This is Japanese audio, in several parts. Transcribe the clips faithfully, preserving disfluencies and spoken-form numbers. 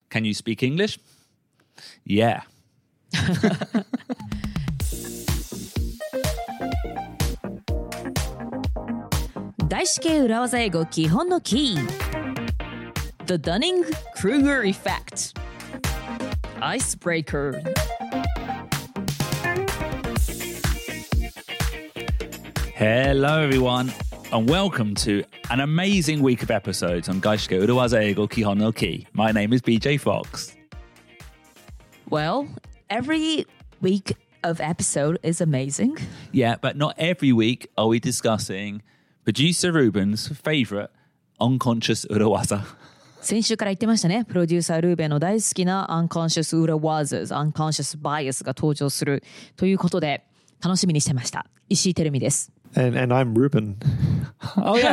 Can you speak English? Yeah. 外資系裏技英語基本のキー The Dunning-Kruger Effect Icebreaker Hello everyone and welcome to an amazing week of episodes on 外資系裏技英語基本のキー My name is B J Fox. Well, every week of episode is amazing. Yeah, but not every week are we discussing Producer Ruben's favorite unconscious 裏技先週から言ってましたね。プロデューサールーベンの大好きな unconscious 裏技 unconscious bias が登場するということで楽しみにしてました。石井てるみです。 And, and I'm Ruben. Oh yeah.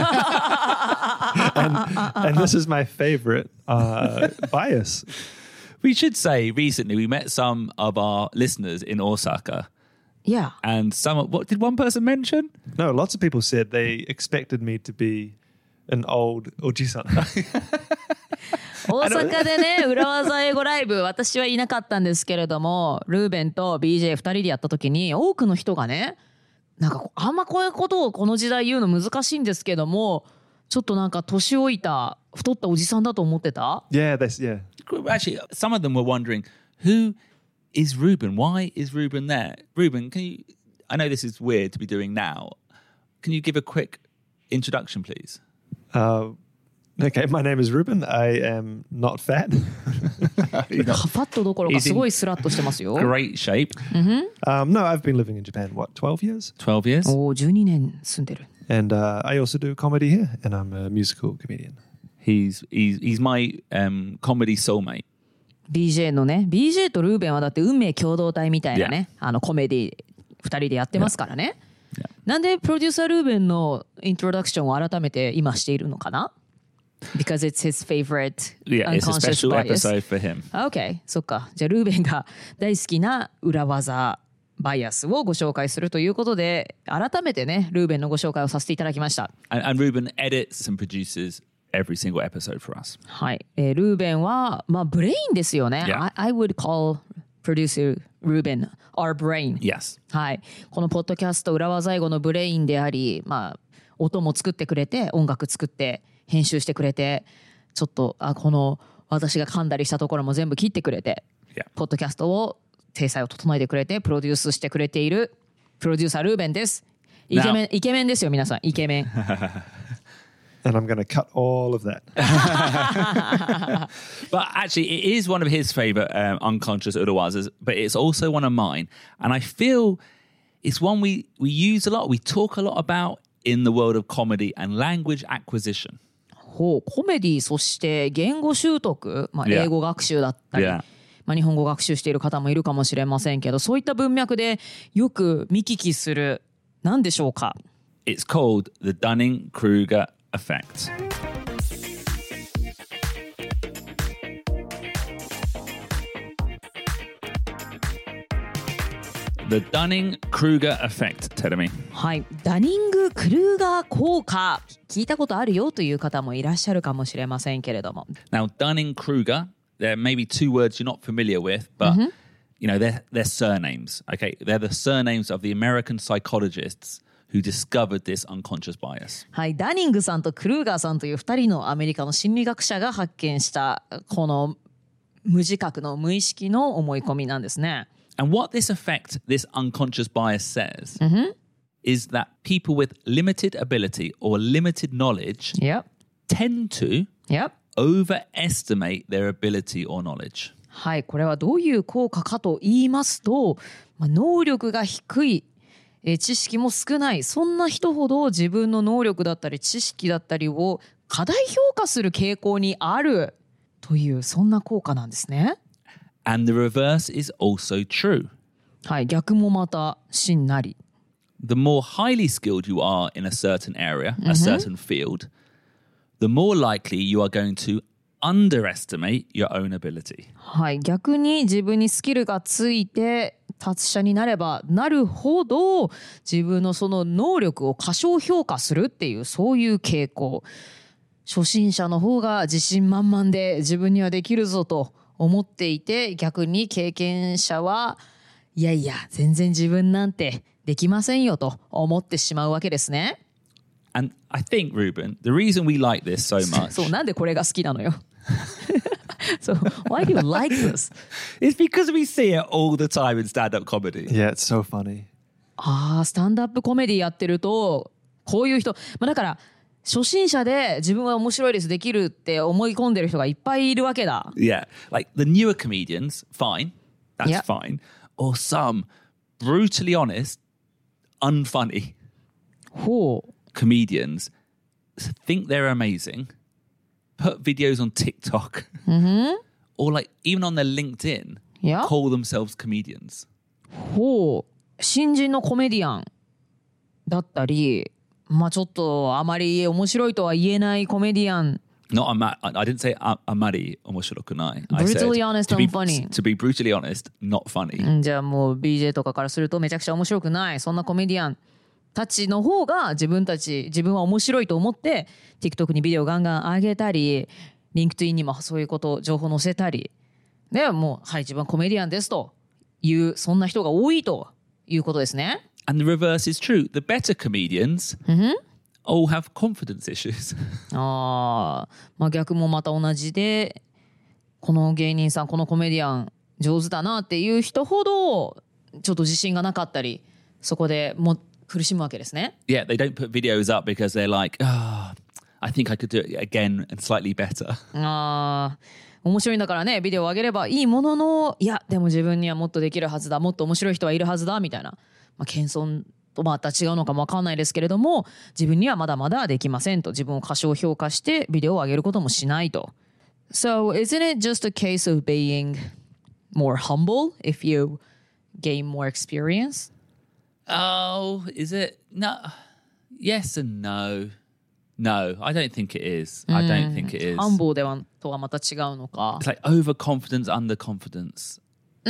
and, and this is my favorite uh, bias. We should say recently we met some of our listeners in Osaka. Yeah. And some, what did one person mention? No, lots of people said they expected me to be an old oji-san. 大阪でね、裏技英語ライブ、私はいなかったんですけれども、ルーベンと ビージェーふたりでやった時に、多くの人がね、なんかあんまこういうことをこの時代言うの難しいんですけども、ちょっとなんか年老いた太ったおじさんだと思ってた Yeah, that's, yeah. Actually, some of them were wondering, who is Ruben? Why is Ruben there? Ruben, can you, I know this is weird to be doing now. Can you give a quick introduction, please? Uh, okay, my name is Ruben. I am not fat. ファットどころかすごいスラッとしてますよ。 Great shape. um, no, I've been living in Japan, what, twelve years? twelve years. おー、じゅうにねん住んでる。 And uh, I also do comedy here, and I'm a musical comedian. He's, he's, he's my um, comedy soulmate. ビージェー のね、ビージェー とルーベンはだって運命共同体みたいなね、あのコメディふたりでやってますからね。 Yeah. なんでプロデューサールーベンのイントロダクションを改めて今しているのかな Because it's his favorite Yeah, it's a unconscious special bias. episode for him. Okay, そっか。じゃあルーベンが大好きな裏技バイアスをご紹介するということで、改めてね、ルーベンのご紹介をさせていただきました。 And, and Ruben edits and produces every single episode for us. はい。えー、ルーベンは、まあ、ブレインですよね。 Yeah. I, I would call producer Ruben our brain. Yes. はい。このポッドキャスト裏技英語のブレインであり、まあ、音も作ってくれて、音楽作って、編集してくれて、ちょっと、あ、この私が噛んだりしたところも全部切ってくれて、 Yeah. ポッドキャストを、体裁を整えてくれて、プロデュースしてくれている、プロデューサールーベンです。イケメン、イケメンですよ、皆さん。イケメン。 And I'm going to cut all of that. But actually, it is one of his favorite um, unconscious urawazas, but it's also one of mine. And I feel it's one we, we use a lot, we talk a lot about in the world of comedy and language acquisition. ほう、コメディ、そして言語習得、まあ、 Yeah. 英語学習だったり、 Yeah. まあ、日本語学習している方もいるかもしれませんけど、そういった文脈でよく見聞きする、何でしょうか It's called the Dunning-Kruger effect. The Dunning-Kruger effect, Terumi. はい、ダニング・クルーガー効果聞いたことあるよという方もいらっしゃるかもしれませんけれども Now, Dunning-Kruger, there may be two words you're not familiar with, but you know, they're, they're surnames. Okay, they're the surnames of the American psychologists who discovered this unconscious bias. はい、ダニングさんとクルーガーさんというふたりのアメリカの心理学者が発見したこの無自覚の無意識の思い込みなんですね。 And what this effect, this unconscious bias says, is that people with limited ability or limited knowledge Yep. tend to Yep. overestimate their ability or knowledge. はい、これはどういう効果かと言いますと、まあ、能力が低い、えー知識も少ない、そんな人ほど自分の能力だったり知識だったりを過大評価する傾向にあるという、そんな効果なんですね。 And the reverse is also true. はい、逆もまたしんなり。 The more highly skilled you are in a certain area, a certain field, the more likely you are going to underestimate your own ability. はい、逆に自分にスキルがついて達者になればなるほど自分のその能力を過小評価するっていう、そういう傾向。初心者の方が自信満々で自分にはできるぞと思っていて、逆に経験者はいやいや全然自分なんてできませんよと思ってしまうわけですね。 And I think, Ruben, the reason we like this so much そう、なんでこれが好きなのよ。So why do you like this? is because we see it all the time in stand-up comedy. Yeah, it's so funny. ああ、スタンドアップコメディやってるとこういう人、まあ、だから初心者で自分は面白いですできるって思い込んでる人がいっぱいいるわけだ。 Yeah, like the newer comedians, fine, that's Yeah. fine. Or some brutally honest, unfunny ほう。 comedians think they're amazing, put videos on TikTok, or like even on their LinkedIn, Yeah. call themselves comedians. ほう。新人のコメディアンだったり、まあちょっとあまり面白いとは言えないコメディアン。 Not a I I didn't say a- amari omoshirokunai. I said Brutally honest to be, and funny. to be brutally honest, not funny. うんじゃあもう ビージェー とかからするとめちゃくちゃ面白くないそんなコメディアンたちの方が自分たち自分は面白いと思って TikTok にビデオガンガン上げたり LinkedIn にもそういうこと情報載せたりでもうはい自分はコメディアンですというそんな人が多いということですね。 And the reverse is true. The better comedians all have confidence issues. あー、まあ逆もまた同じでこの芸人さんこのコメディアン上手だなっていう人ほどちょっと自信がなかったりそこでもう苦しむわけですね。 Yeah, they don't put videos up because they're like, ah, I think I could do it again and slightly better. あー面白いんだからねビデオを上げればいいもののいやでも自分にはもっとできるはずだもっと面白い人はいるはずだみたいな、まあ、謙遜とまた違うのかも分かんないですけれども自分にはまだまだできませんと自分を過小評価してビデオを上げることもしないと。 So isn't it just a case of being more humble if you gain more experience? Oh, is it? No. Yes and no. No, I don't think it is. I don't think it is. humble ではとはまた違うのか。 It's like overconfidence, underconfidence.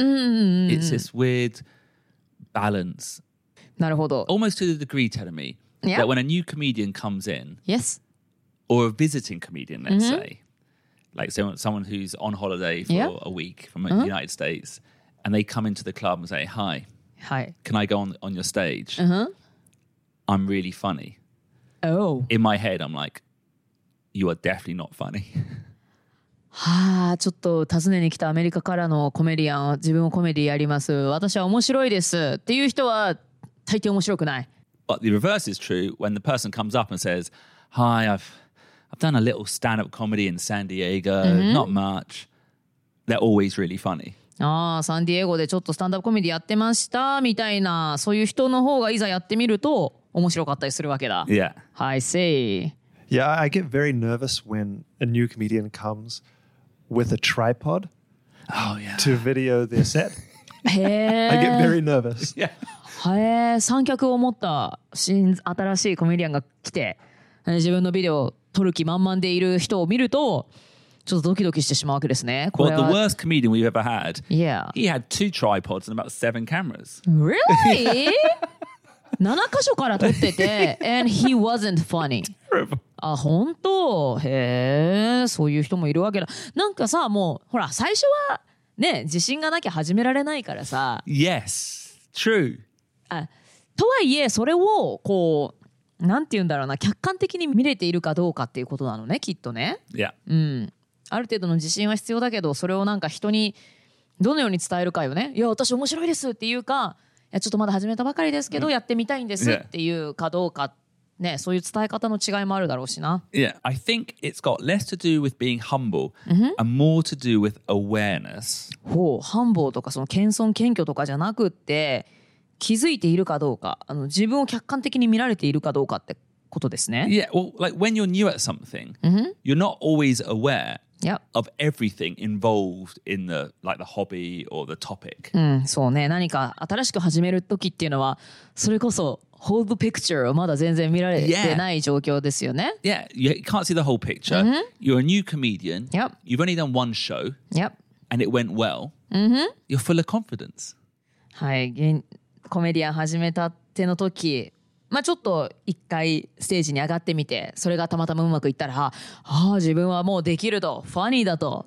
It's this weird balance. なるほど。 Almost to the degree, telling me, Yeah. that when a new comedian comes in, Yes. or a visiting comedian, let's say, like someone, someone who's on holiday for Yeah. a week from the United States, and they come into the club and say, hi, はい。 can I go on, on your stage? I'm really funny. Oh. In my head, I'm like, you are definitely not funny. はあ、ちょっと訪ねに来たアメリカからのコメディアンは自分もコメディやります私は面白いですっていう人は大抵面白くない。 But the reverse is true when the person comes up and says, hi, I've, I've done a little stand-up comedy in San Diego, not much. They're always really funny. ああ、サンディエゴでちょっとスタンダップコメディやってましたみたいなそういう人の方がいざやってみると面白かったりするわけだ。 Yeah. I see. Yeah, I get very nervous when a new comedian comes with a tripod Oh, yeah. to video their set. へ I get え。 very nervous. Yeah. へえ、三脚を持った新新しいコメディアンが来てえー自分のビデオを撮る気満々でいる人を見るとちょっとドキドキしてしまうわけですね。こ Well, れ the は worst comedian we've ever had, Yeah. he had two tripods and about seven cameras. Really? なな箇所から撮ってて and he wasn't funny. あ、本当へえ、そういう人もいるわけだ。なんかさ、もうほら最初はね自信がなきゃ始められないからさ Yes, true. あとはいえそれをこうなんて言うんだろうな客観的に見れているかどうかっていうことなのねきっとね。 Yeah. うん、ある程度の自信は必要だけどそれをなんか人にどのように伝えるかよね。いや私面白いですっていうかいやちょっとまだ始めたばかりですけど、やってみたいんですっていうかどうかねそういう伝え方の違いもあるだろうしな。 Yeah. I think it's got less to do with being humble and more to do with awareness. ほう繁忙とかその謙遜謙虚とかじゃなくって気づいているかどうかあの自分を客観的に見られているかどうかってことですね。 Yeah. Well, like when you're new at something, you're not always aware Yep. of everything involved in the like the hobby or the topic. うん、そうね何か新しく始める時っていうのはそれこそ hold the picture をまだ全然見られてない状況ですよね。 Yeah, you can't see the whole picture. You're a new comedian. Yep. You've only done one show Yep. and it went well. You're full of confidence. はい現コメディアン始めたての時まあちょっと一回ステージに上がってみてそれがたまたまうまくいったらああ自分はもうできるとファニーだと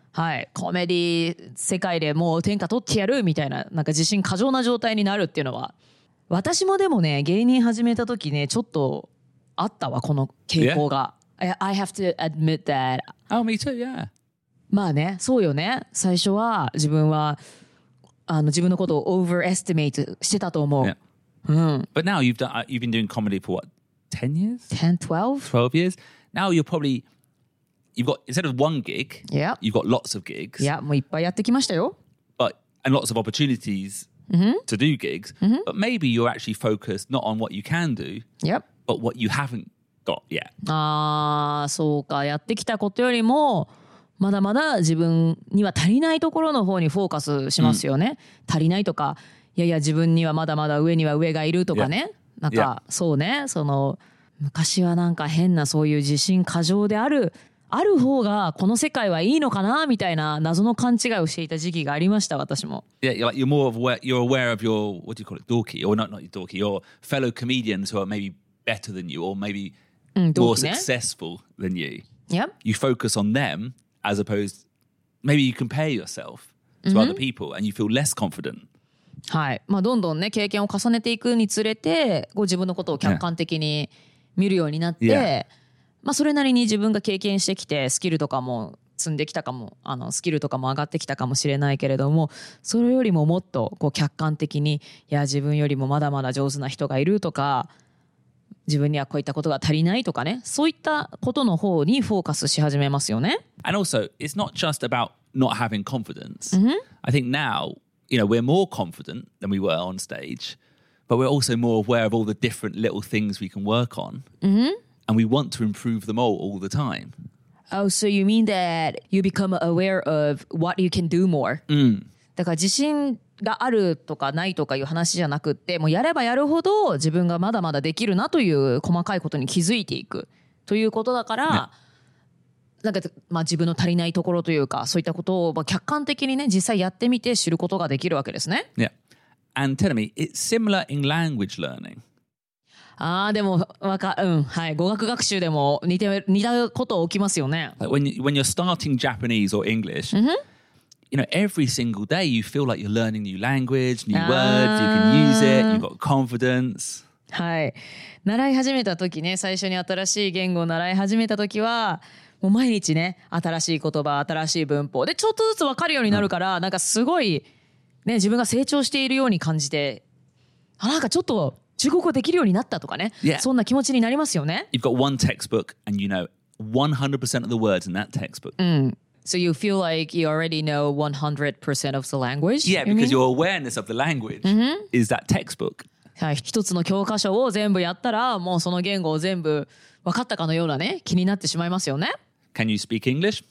はい、コメディ世界でもう天下取ってやるみたいな、なんか自信過剰な状態になるっていうのは、私もでもね、芸人始めた時ね、ちょっとあったわ、この傾向が。I, I have to admit that. Oh, me too, yeah. まあね、そうよね。最初は自分はあの自分のことを overestimate してたと思う。 Yeah. うん。 But now you've done, you've been doing comedy for what, ten years? ten, twelve? twelve years? Now you're probably, you've got, instead of one gig, Yeah. you've got lots of gigs. いや、もういっぱいやってきましたよ。 But, and lots of opportunities to do gigs. But maybe you're actually focused not on what you can do, Yep. but what you haven't got yet. ああ、そうか。やってきたことよりもまだまだ自分には足りないところの方にフォーカスしますよね。足りないとか、いやいや自分にはまだまだ上には上がいるとかね。なんかそうね、その昔はなんか変なそういう自信過剰であるある方がこの世界はいいのかなみたいな謎の勘違いをしていた時期がありました、私も。 Yeah, you're like you're more of aware, you're aware of your, what do you call it, dorky, or not not your dorky, your fellow comedians who are maybe better than you or maybe うん、 more 同期ね。 successful than you. Yep. You focus on them as opposed, maybe you compare yourself to other people and you feel less confident. はい。まあどんどんね経験を重ねていくにつれて、こう自分のことを客観的に見るようになって、 Yeah. まあそれなりに自分が経験してきてスキルとかも積んできたかも、あのスキルとかも上がってきたかもしれないけれども、それよりももっとこう客観的に、いや自分よりもまだまだ上手な人がいるとか、自分にはこういったことが足りないとかね、そういったことの方にフォーカスし始めますよね。 And also, it's not just about not having confidence. I think now, you know, we're more confident than we were on stage, but we're also more aware of all the different little things we can work on. And we want to improve them all all the time. Oh, so you mean that you become aware of what you can do more? だから自信があるとかないとかいう話じゃなくって、もうやればやるほど自分がまだまだできるなという細かいことに気づいていくということだから、なんかまあ自分の足りないところというか、そういったことをまあ客観的にね実際やってみて知ることができるわけですね。 Yeah. And tell me, it's similar in language learning. ああ、でもわかうんはい、語学学習でも似て似たこと起きますよね。 Like when you, when you're starting Japanese or English, you know, every single day you feel like you're learning new language, new words, you can use it, you've got confidence. はい、習い始めた時ね、最初に新しい言語を習い始めた時はもう毎日ね新しい言葉、新しい文法でちょっとずつ分かるようになるから、なんかすごいね自分が成長しているように感じて、あなんかちょっと中国語できるようになったとかね、 Yeah. そんな気持ちになりますよね。 You've got one textbook and you know one hundred percent of the words in that textbook. So you feel like you already know one hundred percent of the language? Yeah, you because mean? your awareness of the language is that textbook. はい、一つの教科書を全部やったらもうその言語を全部分かったかのようなね気になってしまいますよね。 Can you speak English?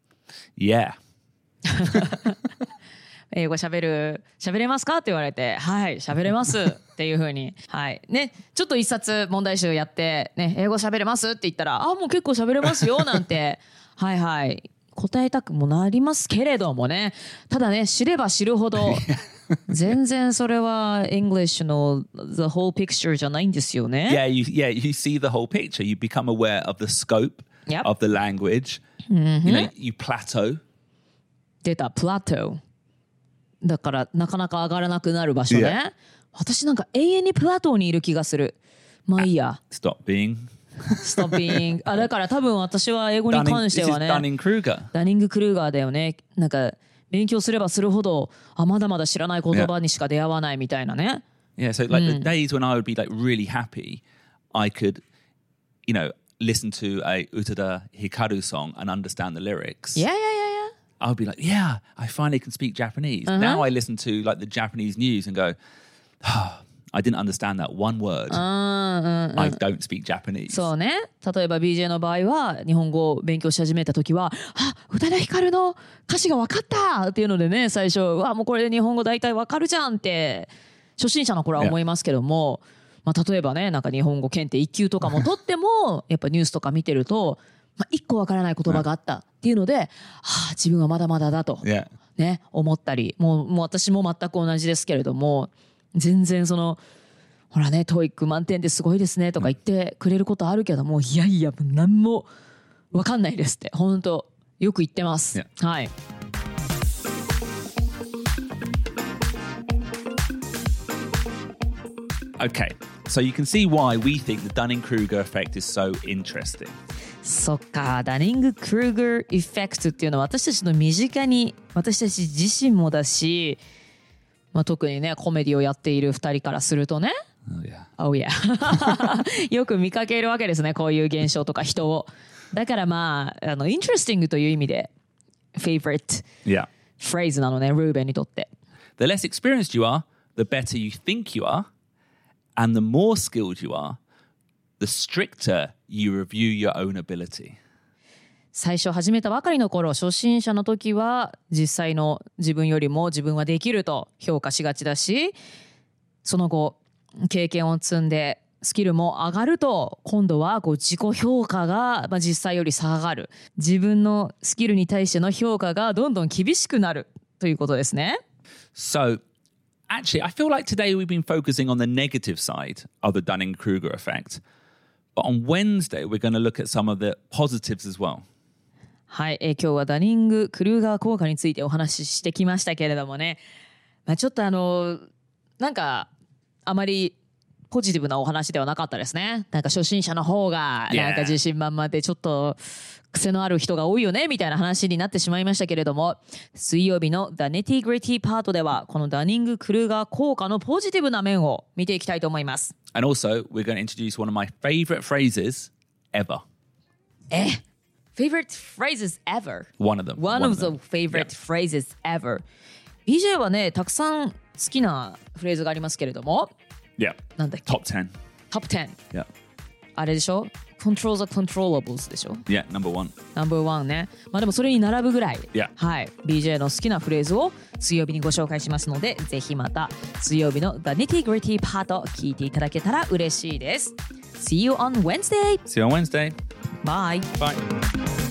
Yeah. 英語喋る喋れますかって言われて、はい喋れますっていう風に、はいね、ちょっと一冊問題集やってね、英語喋れますって言ったら、あもう結構喋れますよなんてはいはい答えたくもなりますけれどもね、ただね知れば知るほど全然それは English の the whole picture じゃないんですよね。 Yeah, you yeah, you see the whole picture. You become aware of the scope Yep. of the language. You know, you plateau. 出たプラトーだからなかなか上がらなくなる場所ね。 Yeah. 私なんか永遠にプラトーにいる気がする。まあいいや。 Stop being ストッピング。あだから多分私は英語に Dunning. 関して This is はね。 Dunning-Kruger. ダニング・クルーガーだよね。なんか勉強すればするほどあまだまだ知らない言葉にしか出会わないみたいなね。 Yeah, so like the days when I would be like really happy, I could, you know, listen to a Utada Hikaru song and understand the lyrics. いやいやいやいや。 I would be like, yeah, I finally can speak Japanese. Now I listen to like the Japanese news and go, oh, I didn't understand that one word. I don't speak Japanese. そうね。例えば ビージェー の場合は日本語を勉強し始めた時は、あ宇多田ヒカルの歌詞が分かったっていうのでね、最初うわもうこれで日本語大体分かるじゃんって初心者の頃は思いますけども、まあ、例えばねなんか日本語検定いっ級とかも取ってもやっぱニュースとか見てると、まあ、いっこ分からない言葉があったっていうので、はあ、自分はまだまだだと、 Yeah. ね、思ったり、もう、もう私も全く同じですけれども、全然そのほらねトーイック満点ですごいですねとか言ってくれることあるけども、いやいや何も分かんないですって本当よく言ってます。 Yeah. はい。 Okay, so you can see why we think the Dunning-Kruger effect is so interesting. そっか、ダニング・クルーガー・エフェクトっていうのは私たちの身近に、私たち自身もだし、まあ、特にねコメディをやっているふたりからするとね、 Oh yeah. Oh yeah よく見かけるわけですね、こういう現象とか人を。だからまあ、あのイントレスティングという意味でフェイバリット Yeah. フレーズなのね、ルーベンにとって。 The less experienced you are, the better you think you are, and the more skilled you are, the stricter you review your own ability. 最初始めたばかりの頃、初心者の時は実際の自分よりも自分はできると評価しがちだし、その後経験を積んでスキルも上がると、今度はこう自己評価が、まあ、実際より下がる、自分のスキルに対しての評価がどんどん厳しくなるということですね。 So, actually, I feel like today we've been focusing on the negative side of the Dunning-Kruger effect. But on Wednesday, we're going to look at some of the positives as well. はい、えー今日はダニング・クルーガー効果についてお話ししてきましたけれどもね、まあ、ちょっとあのなんかあまりポジティブなお話ではなかったですね。なんか初心者の方がなんか自信満々でちょっと癖のある人が多いよねみたいな話になってしまいましたけれども、水曜日の The Nitty Gritty パートではこのダニング・クルーガー効果のポジティブな面を見ていきたいと思います。 And also, we're going to introduce one of my favorite phrases ever. え Favorite phrases ever? One of them. One, One of of the them. favorite Yeah. phrases ever. ビージェー はね、たくさん好きなフレーズがありますけれども、 Yeah. なんだっけ Top ten. トップじゅう。 Yeah. あれでしょ Control the controllables でしょ Yeah, number one. ナンバーワンね。まあでもそれに並ぶぐらい、 Yeah. はい、ビージェー の好きなフレーズを水曜日にご紹介しますので、ぜひまた水曜日の The Nitty Gritty パート聞いていただけたら嬉しいです。See you on Wednesday! See you on Wednesday. Bye! Bye.